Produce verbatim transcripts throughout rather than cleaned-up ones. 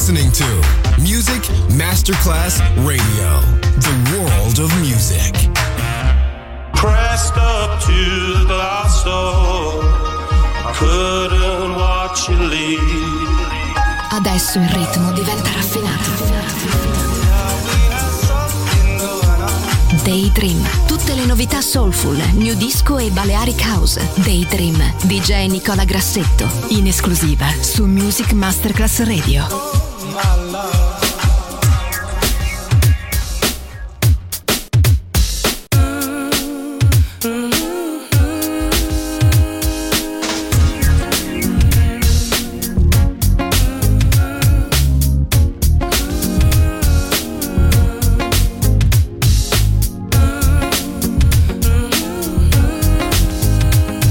listening to Music Masterclass Radio, the world of music. Pressed up to the glass door, I couldn't watch you leave. Adesso il ritmo diventa raffinato. Daydream, tutte le novità soulful, new disco e Balearic House. Daydream, D J Nicola Grassetto, in esclusiva su Music Masterclass Radio.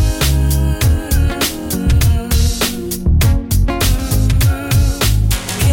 Can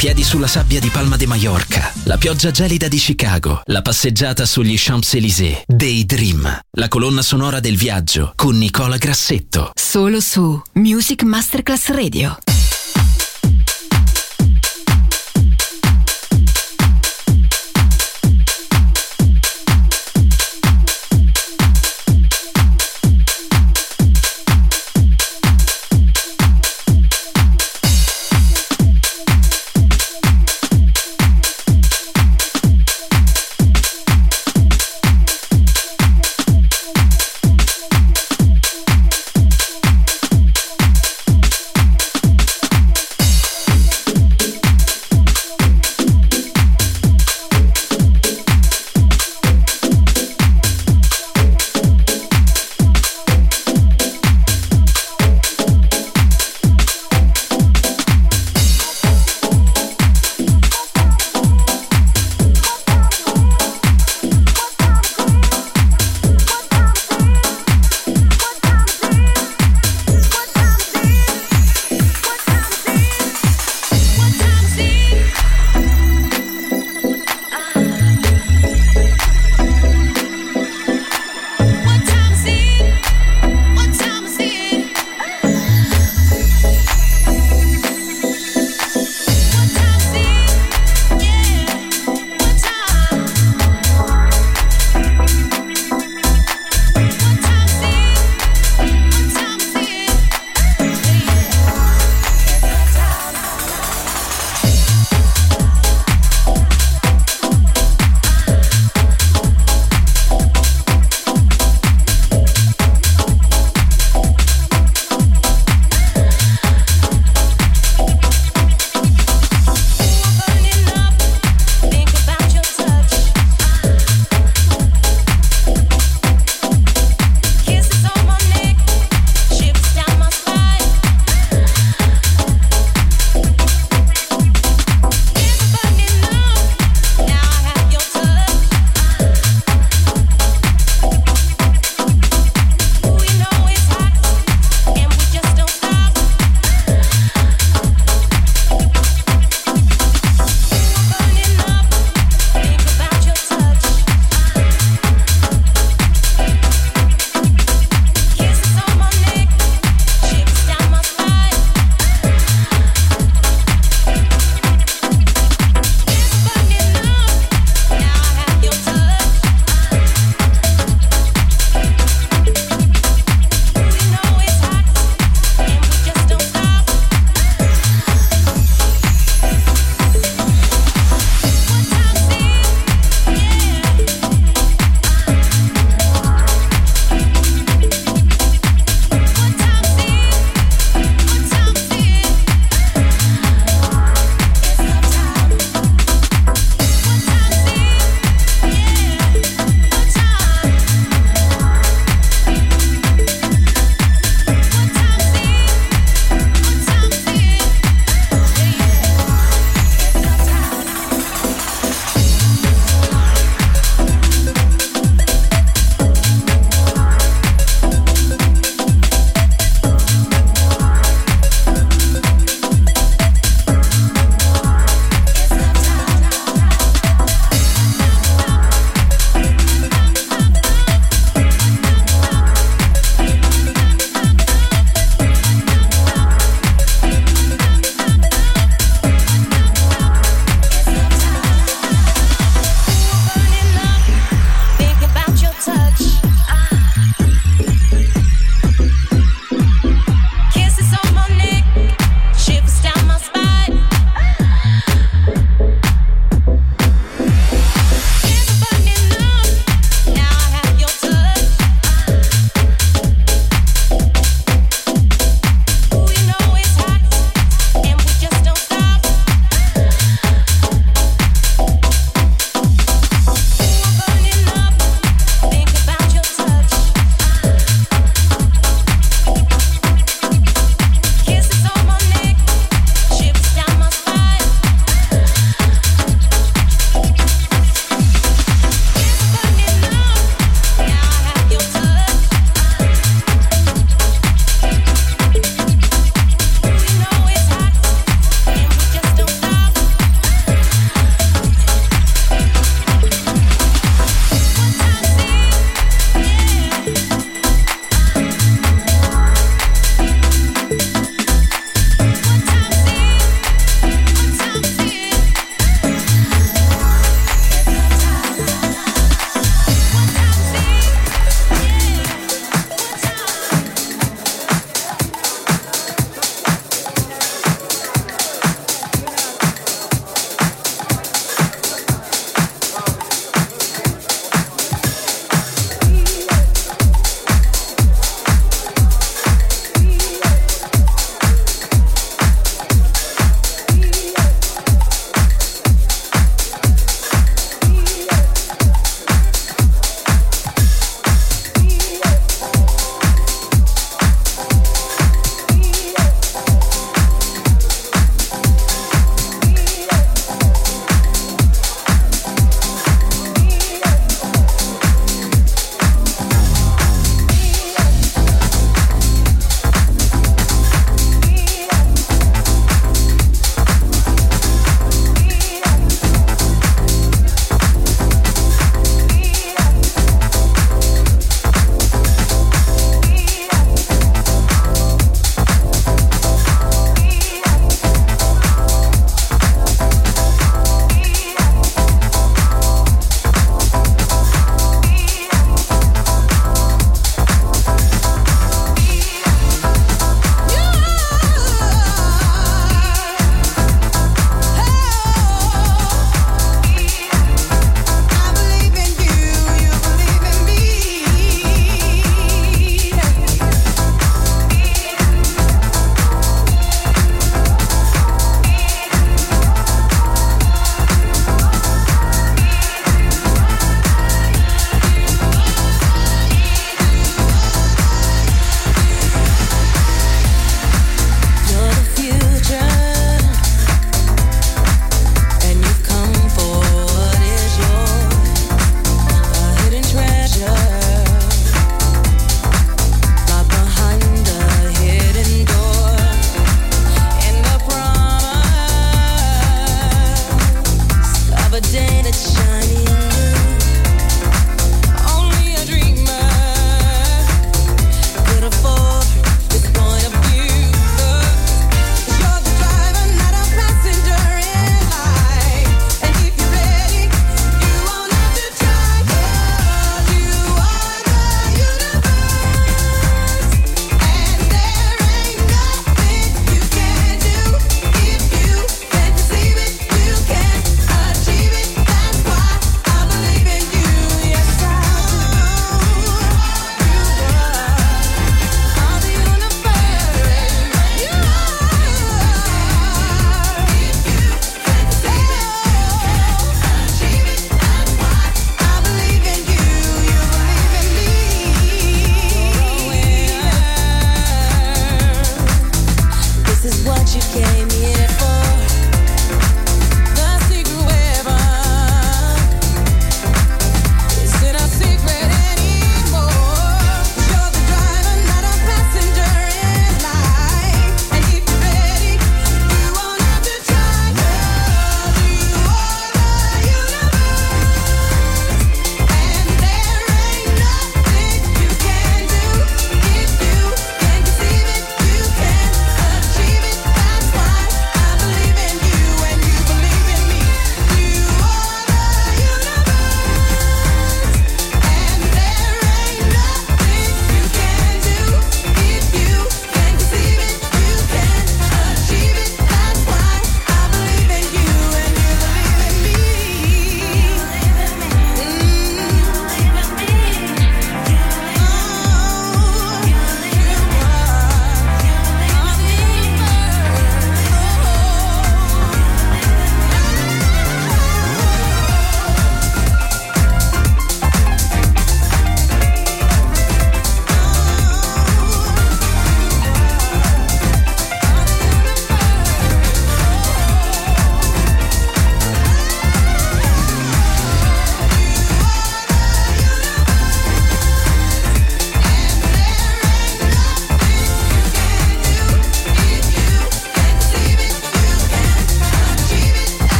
piedi sulla sabbia di Palma de Mallorca, la pioggia gelida di Chicago, la passeggiata sugli Champs-Élysées. Daydream, la colonna sonora del viaggio con Nicola Grassetto. Solo su Music Masterclass Radio.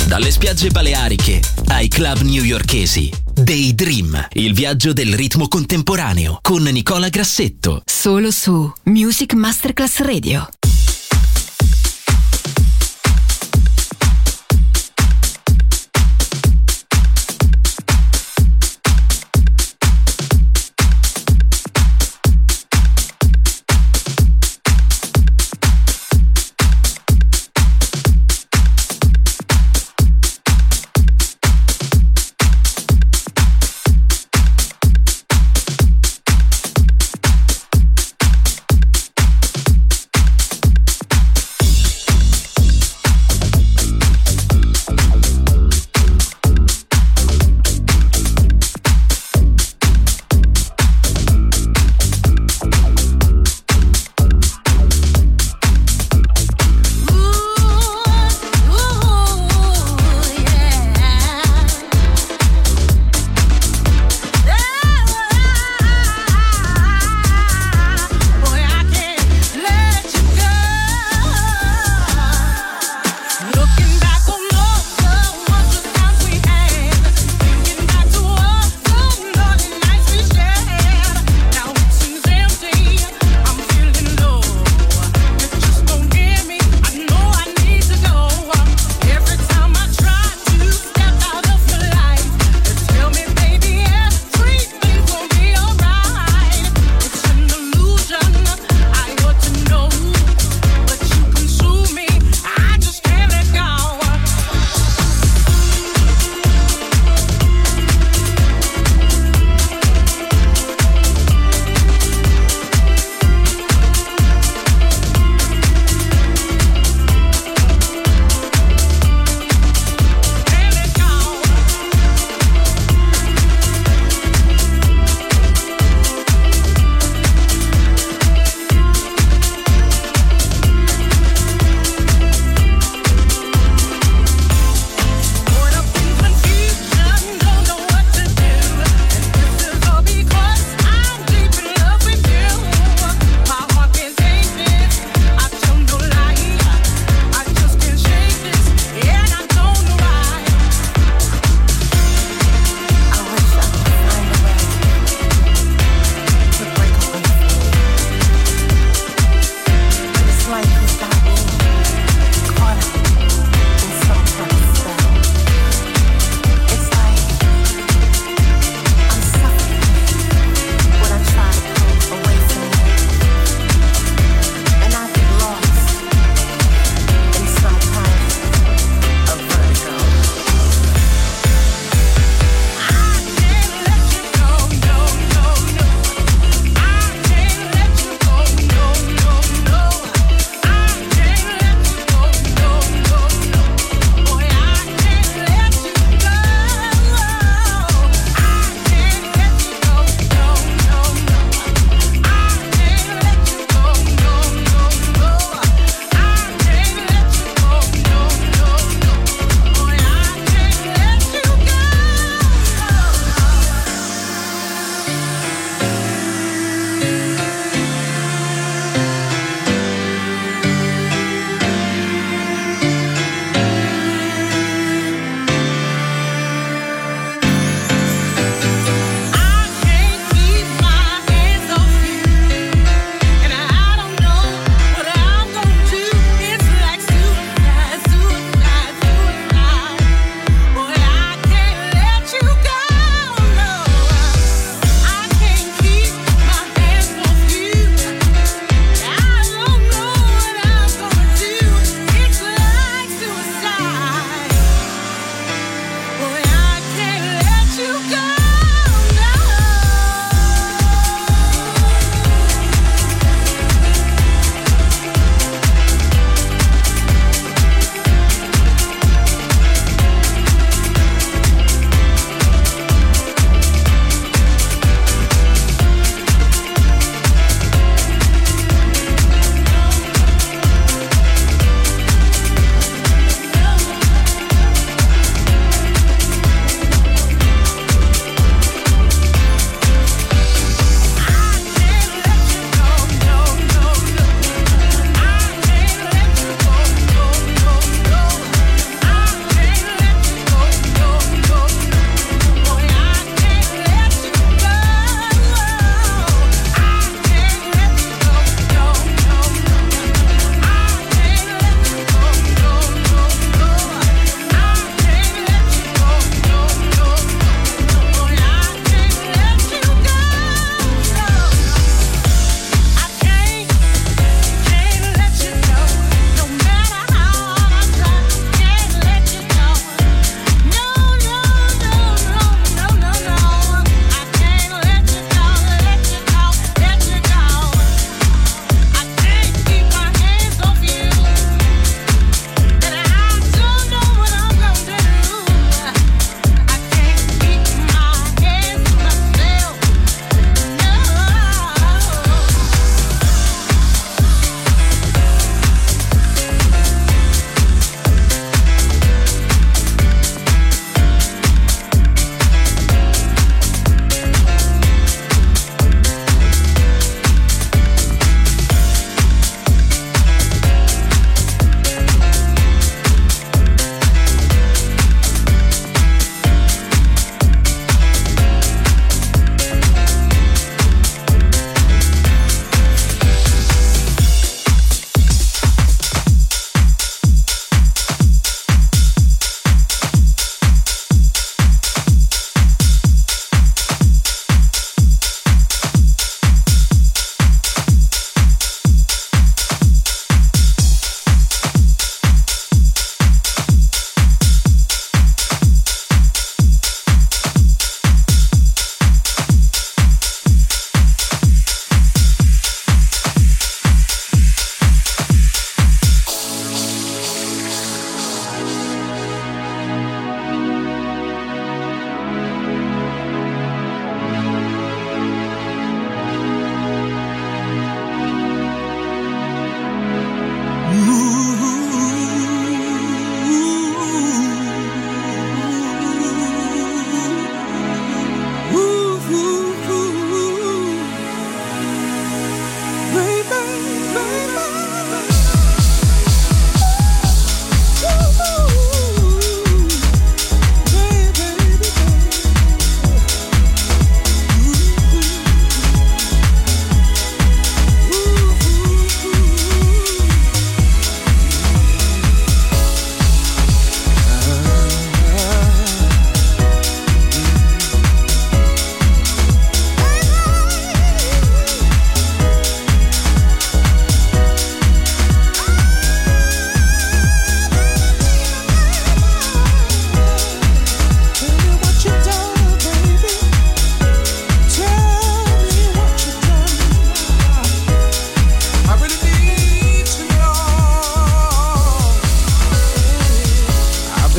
Dalle spiagge baleariche ai club newyorkesi. Daydream, il viaggio del ritmo contemporaneo con Nicola Grassetto. Solo su Music Masterclass Radio.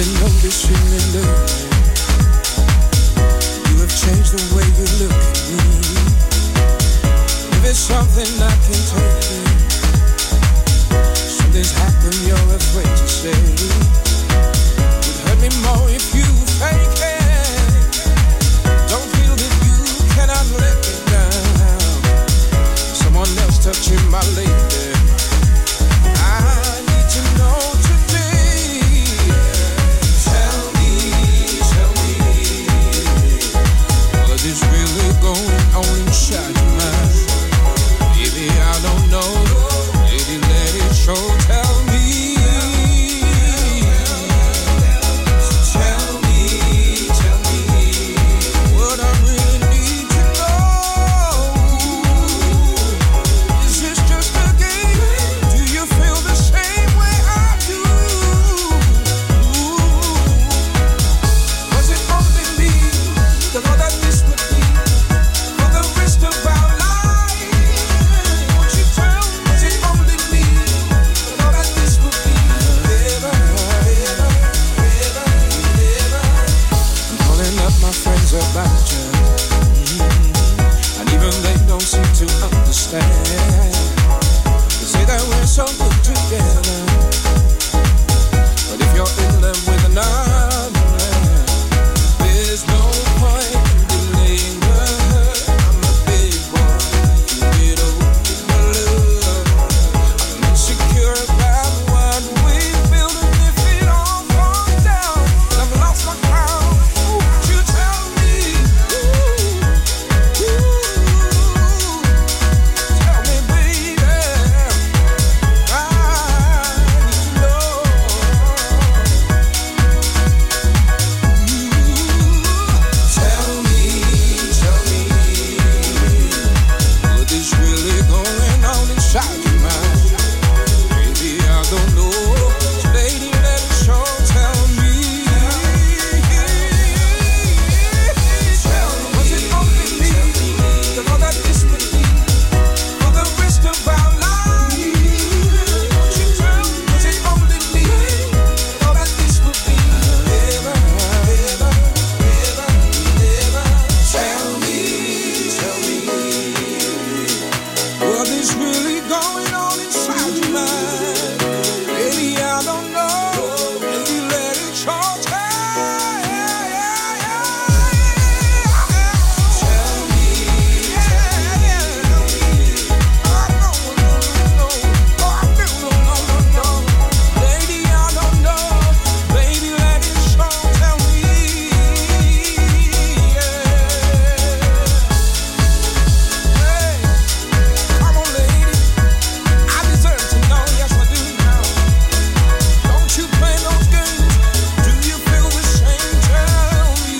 been noticing it lately. You have changed the way you look at me. If it's something I can take it, something's happened you're afraid to say. It would hurt me more if you fake it. Don't feel that you cannot let me down. Someone else touching my lady. I need to know today. Tell me, tell me, what is really going on inside your mind? Baby, I don't know. Lady, let it show. Tell me. Tell me, tell me what I really need to know. Is this just a game? Do you feel the same way I do? Was it only me that thought that this would be for the rest of our lives? Won't you tell me? Was it only me that thought that this would be forever, forever, forever, forever? I'm calling up my friends about you, and even they don't seem to understand. They say that we're so good together, but if you're in love with another man, there's no point in delaying the hurt. I'm a big boy, you get old with my love. I'm insecure about what we built, and if it all falls down, and I've lost my crown, won't you tell me? Ooh, ooh, tell me, baby. I need to know. Tell me, tell me, what is really going on inside your mind? Baby, I don't know. Lady, let it show. Tell me. Was it only me that thought that this would be for the rest of our lives? Won't you tell me? Was it only me that thought that this would be forever, forever, forever, forever? Tell me, tell me, what is really going on inside your mind? Baby, I don't know. Baby, let it show. Tell me, tell me. I don't know, no, oh, I feel no, no, no, no. Lady, I don't know. Baby, let it show. Tell me, yeah. Hey, come on, lady. I deserve to know. Yes, I do now. Don't you play those games? Do you feel the same? Tell me.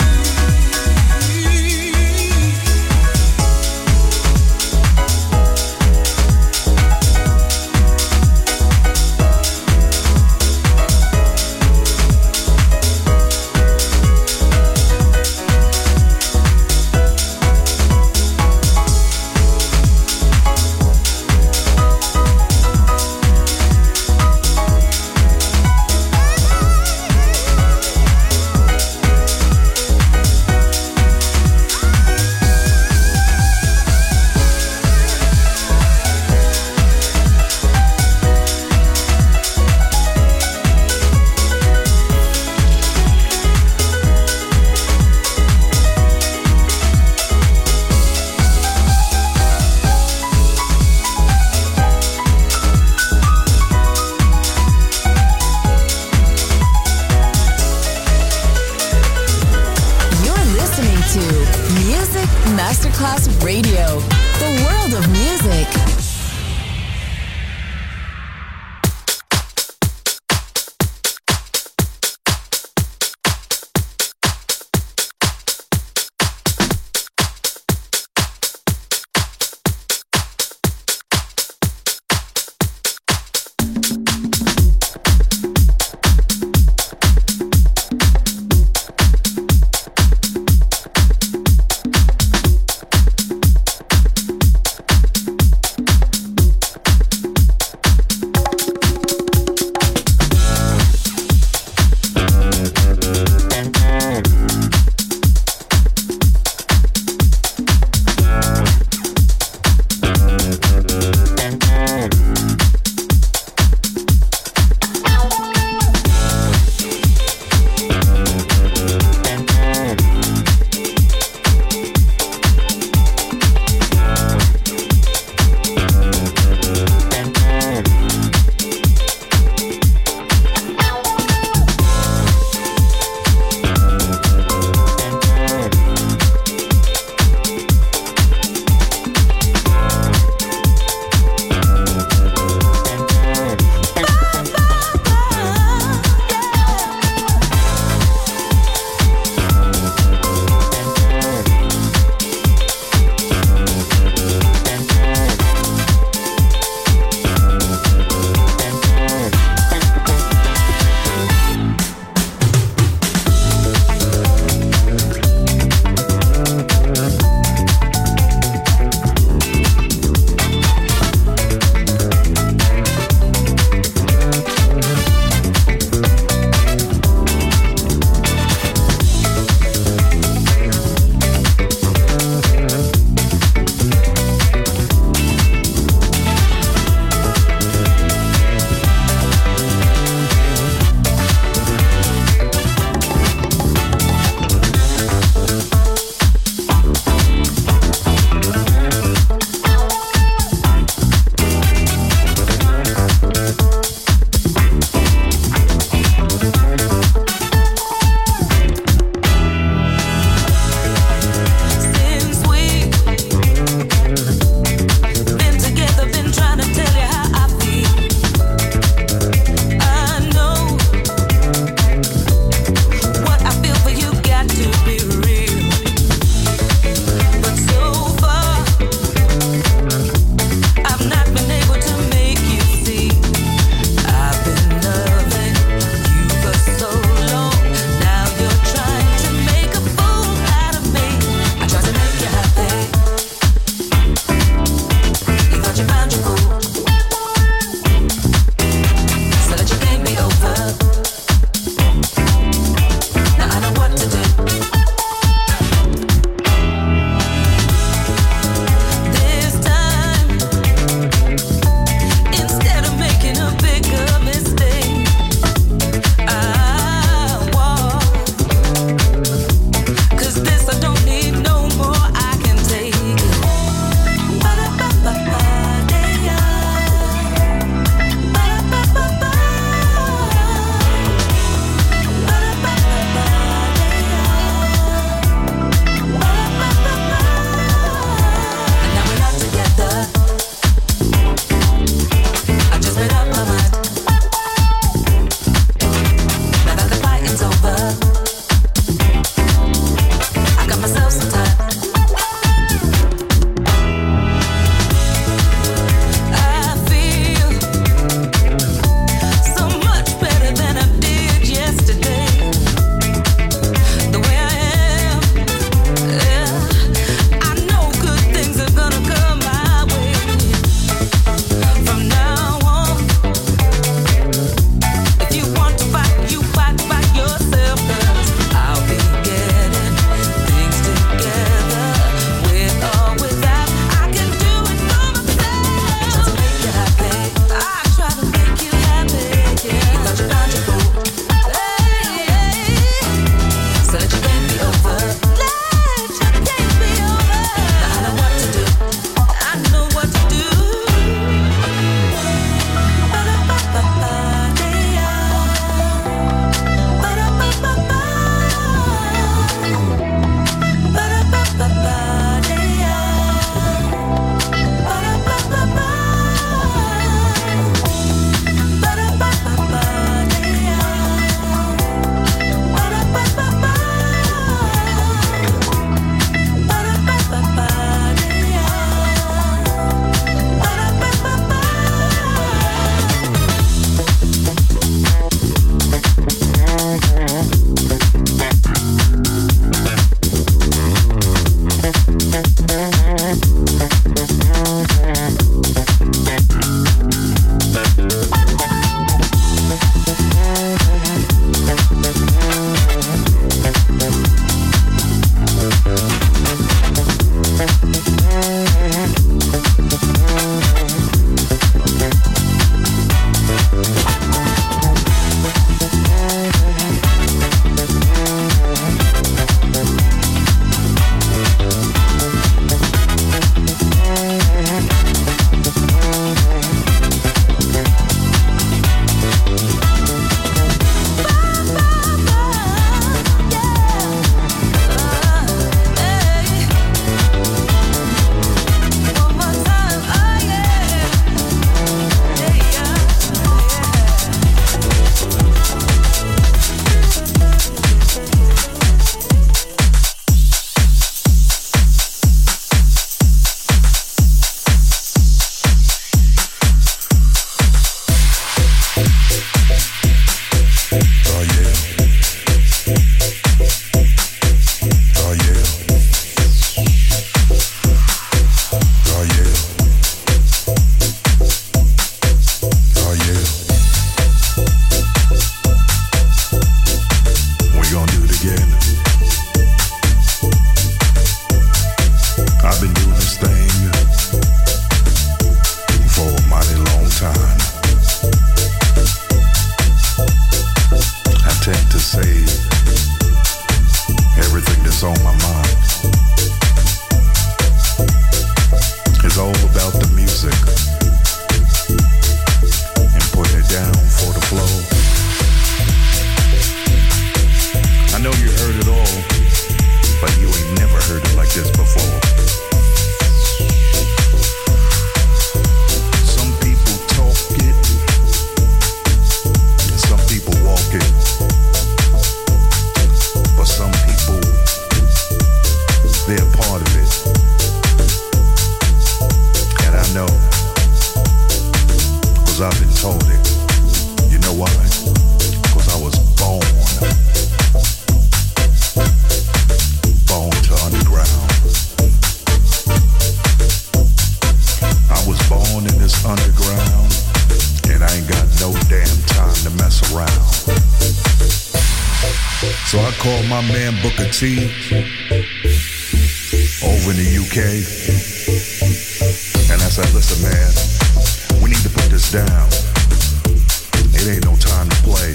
You're listening to Music Masterclass Radio, the world of music. again. I've been doing this thing for a mighty long time. I tend to say everything that's on my mind. It's all about the music and putting it down for the flow. I know you heard it all, but you ain't never heard it like this before. Some people talk it, and some people walk it, but some people, they're part of it. And I know, cause I've been told it. You know why? Cause I was born Born to underground. I was born in this underground, and I ain't got no damn time to mess around. So I called my man Booker T over in the U K, and I said, listen man, we need to put this down. It ain't no time to play.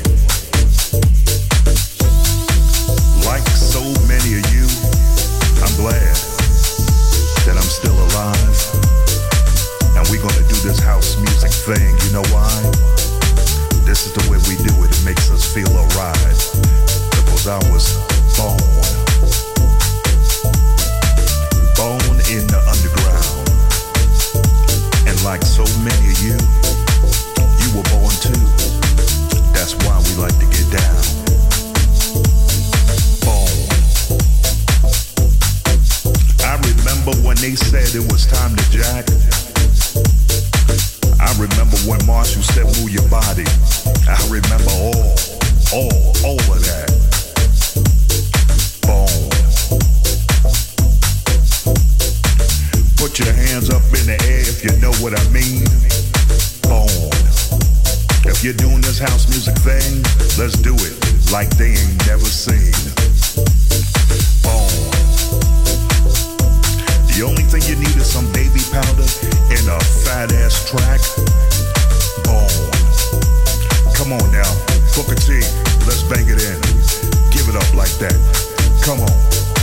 Like so many of you, I'm glad that I'm still alive. And we're gonna do this house music thing. You know why? This is the way we do it. It makes us feel alright. Because I was born, born in the underground. And like so many of you, you were born too. That's why we like to get down. I remember when they said it was time to jack. I remember when Marshall said move your body. I remember all, all, all of that. Boom. Put your hands up in the air if you know what I mean. Boom. If you're doing this house music thing, let's do it like they ain't never seen. Boom. The only thing you need is some baby powder and a fat ass track. Boom. Come on now, Booker T, let's bang it in. Give it up like that. Come on.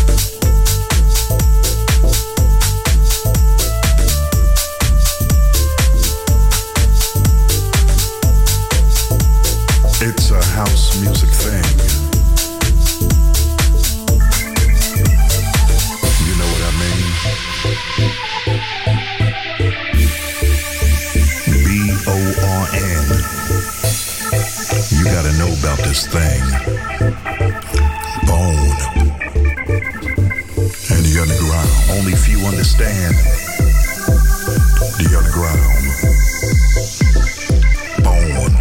It's a house music thing. You know what I mean? B O R N. You gotta know about this thing. Bone. And the underground. Only few understand the underground. Bone.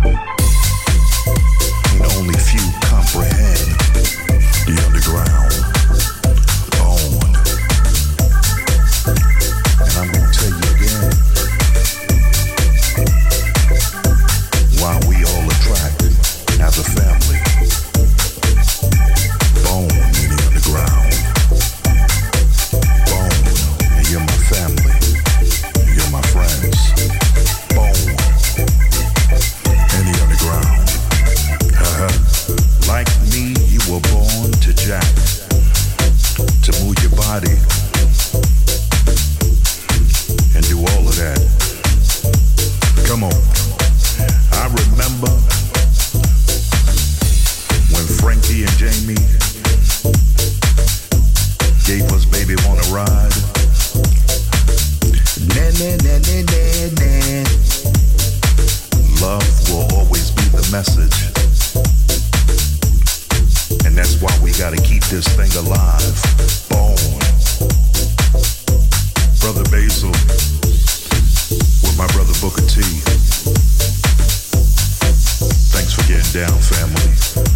And only few comprehend the underground. Bone. And I'm gonna tell you again why we all attracted as a family. Bone in the underground. Bone, and you're my family. You're my friends. Bone in the underground. Uh-huh. Like me, you were born to jack, to move your body and do all of that. Come on. I remember when Frankie and Jamie gave us Baby Wanna Ride. Nah, nah, nah, nah, nah, nah. Love will always be the message. And that's why we gotta keep this thing alive. Bone. Brother Basil with my brother Booker T. Thanks for getting down, family.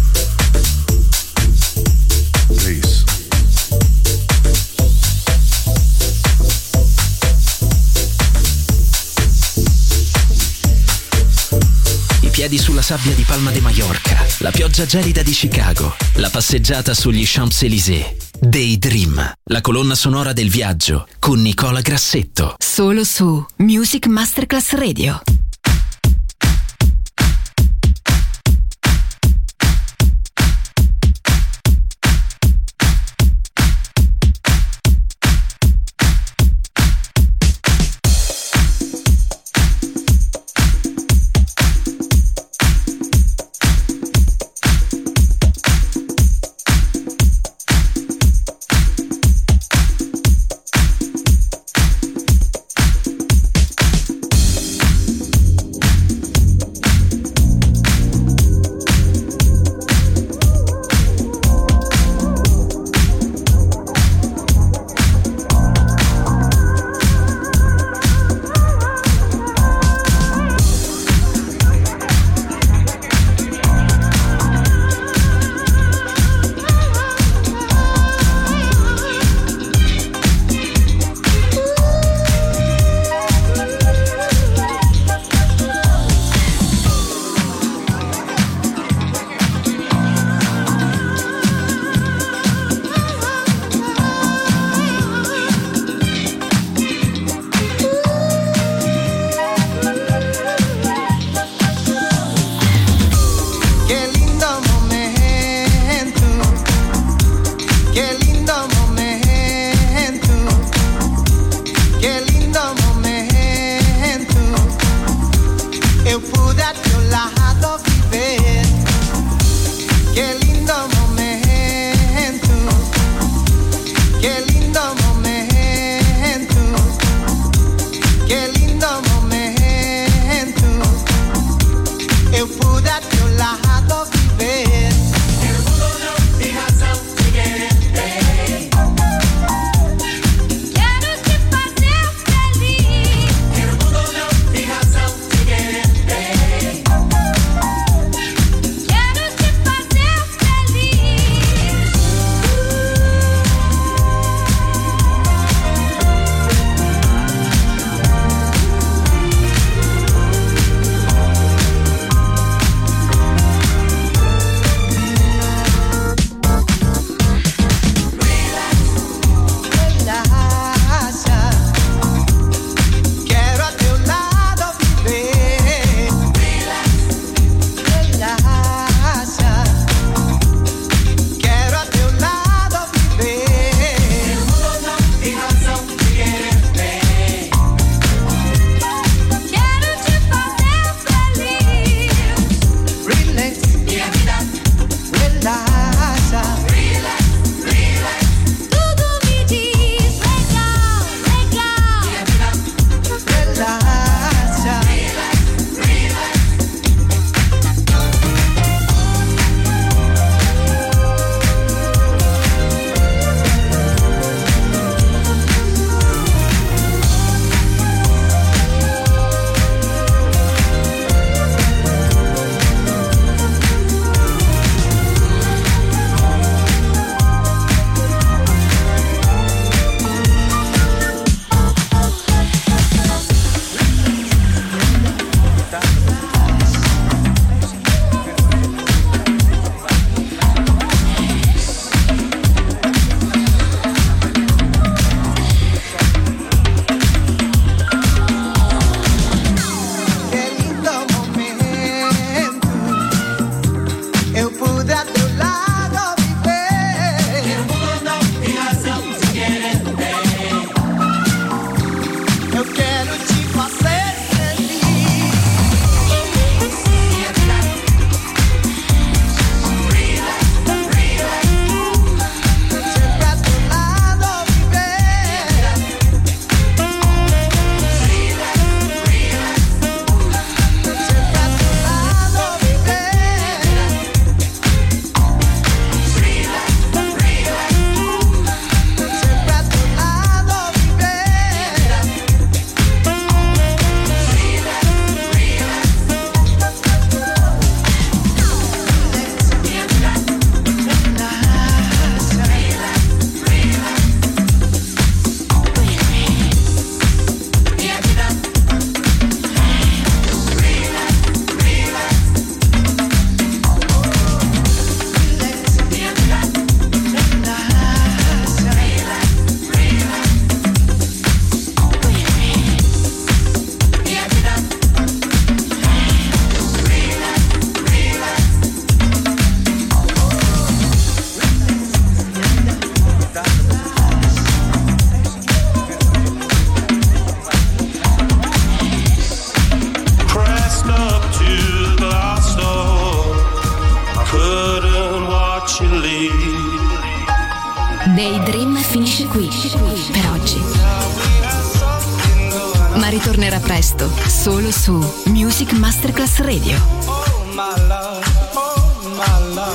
Peace. piedi sulla sabbia di Palma de Mallorca, la pioggia gelida di Chicago, la passeggiata sugli Champs-Élysées. Daydream, la colonna sonora del viaggio con Nicola Grassetto. Solo su Music Masterclass Radio. watch you leave. Daydream finisce qui per oggi, ma ritornerà presto solo su Music Masterclass Radio.